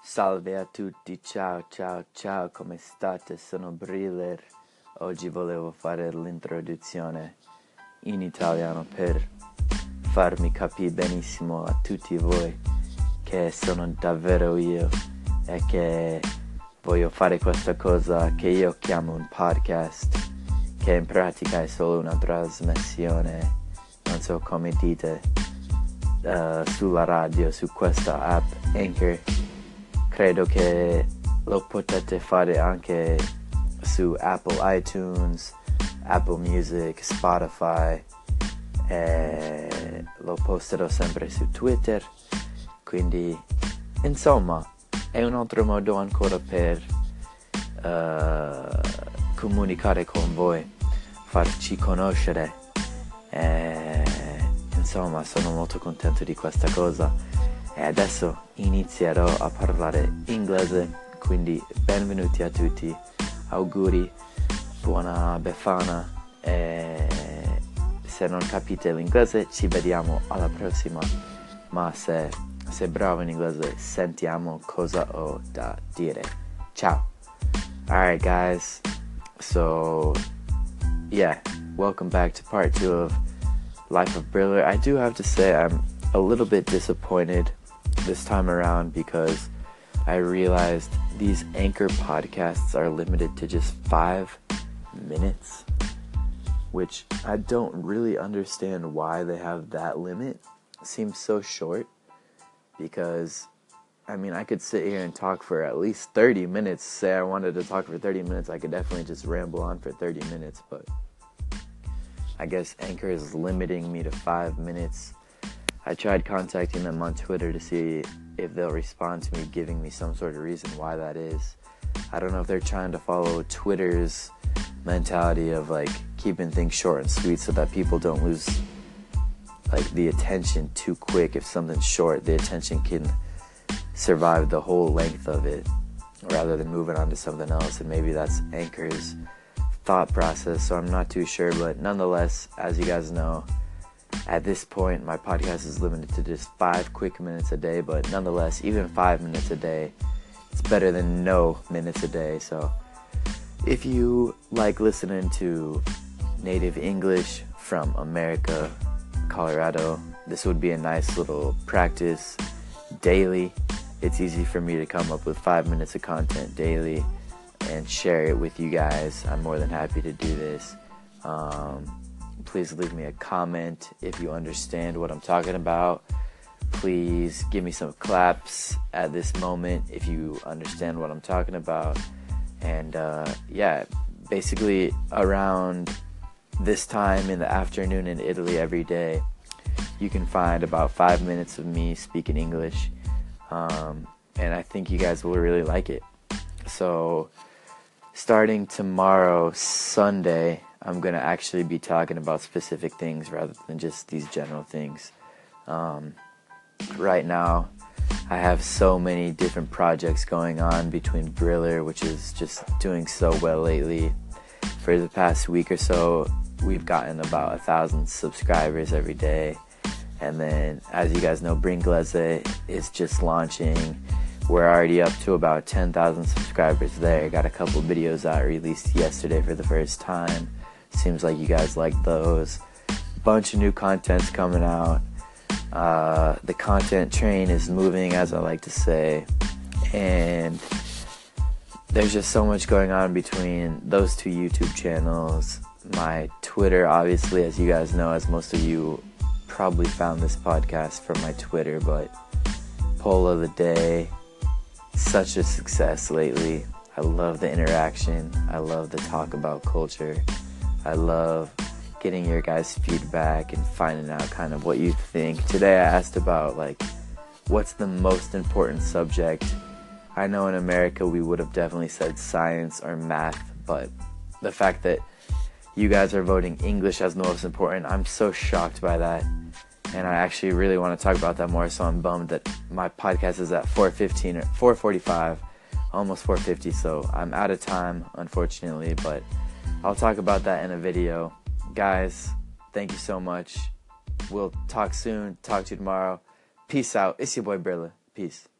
Salve a tutti, ciao ciao ciao, come state? Sono Briller. Oggi volevo fare l'introduzione in italiano per farmi capire benissimo a tutti voi che sono davvero io e che voglio fare questa cosa che io chiamo un podcast, che in pratica è solo una trasmissione, non so come dite, sulla radio, su questa app Anchor. Credo che lo potete fare anche su Apple iTunes, Apple Music, Spotify, e lo posterò sempre su Twitter, quindi insomma è un altro modo ancora per comunicare con voi, farci conoscere, insomma sono molto contento di questa cosa. E adesso inizierò a parlare inglese, quindi benvenuti a tutti, auguri, buona Befana, e se non capite l'inglese ci vediamo alla prossima, ma se sei bravo in inglese sentiamo cosa ho da dire. Ciao! Alright guys, so yeah, welcome back to part 2 of Life of Briller. I do have to say I'm a little bit disappointed this time around because I realized these Anchor podcasts are limited to just 5 minutes, which I don't really understand why they have that limit. It seems so short because, I mean, I could sit here and talk for at least 30 minutes. Say I wanted to talk for 30 minutes, I could definitely just ramble on for 30 minutes, but I guess Anchor is limiting me to 5 minutes. I tried contacting them on Twitter to see if they'll respond to me, giving me some sort of reason why that is. I don't know if they're trying to follow Twitter's mentality of like keeping things short and sweet so that people don't lose like the attention too quick. If something's short, the attention can survive the whole length of it rather than moving on to something else, and maybe that's Anchor's thought process, so I'm not too sure. But nonetheless, as you guys know, at this point, my podcast is limited to just 5 quick minutes a day, but nonetheless, even 5 minutes a day, it's better than no minutes a day. So if you like listening to native English from America, Colorado, this would be a nice little practice daily. It's easy for me to come up with 5 minutes of content daily and share it with you guys. I'm more than happy to do this. Please leave me a comment if you understand what I'm talking about. Please give me some claps at this moment if you understand what I'm talking about. And yeah, basically around this time in the afternoon in Italy every day, you can find about 5 minutes of me speaking English. And I think you guys will really like it. So starting tomorrow, Sunday, I'm going to actually be talking about specific things rather than just these general things. Right now, I have so many different projects going on between Briller, which is just doing so well lately. For the past week or so, we've gotten about 1,000 subscribers every day. And then, as you guys know, Bringlese is just launching. We're already up to about 10,000 subscribers there. Got a couple videos out released yesterday for the first time. Seems like you guys like those. Bunch of new content's coming out. The content train is moving, as I like to say. And there's just so much going on between those 2 YouTube channels. My Twitter, obviously, as you guys know, as most of you probably found this podcast from my Twitter, but poll of the day, such a success lately. I love the interaction. I love the talk about culture. I love getting your guys' feedback and finding out kind of what you think. Today I asked about like what's the most important subject. I know in America we would have definitely said science or math, but the fact that you guys are voting English as the most important, I'm so shocked by that. And I actually really want to talk about that more, so I'm bummed that my podcast is at 4:15 or 4:45, almost 4:50, so I'm out of time, unfortunately, but I'll talk about that in a video. Guys, thank you so much. We'll talk soon. Talk to you tomorrow. Peace out. It's your boy Brilla. Peace.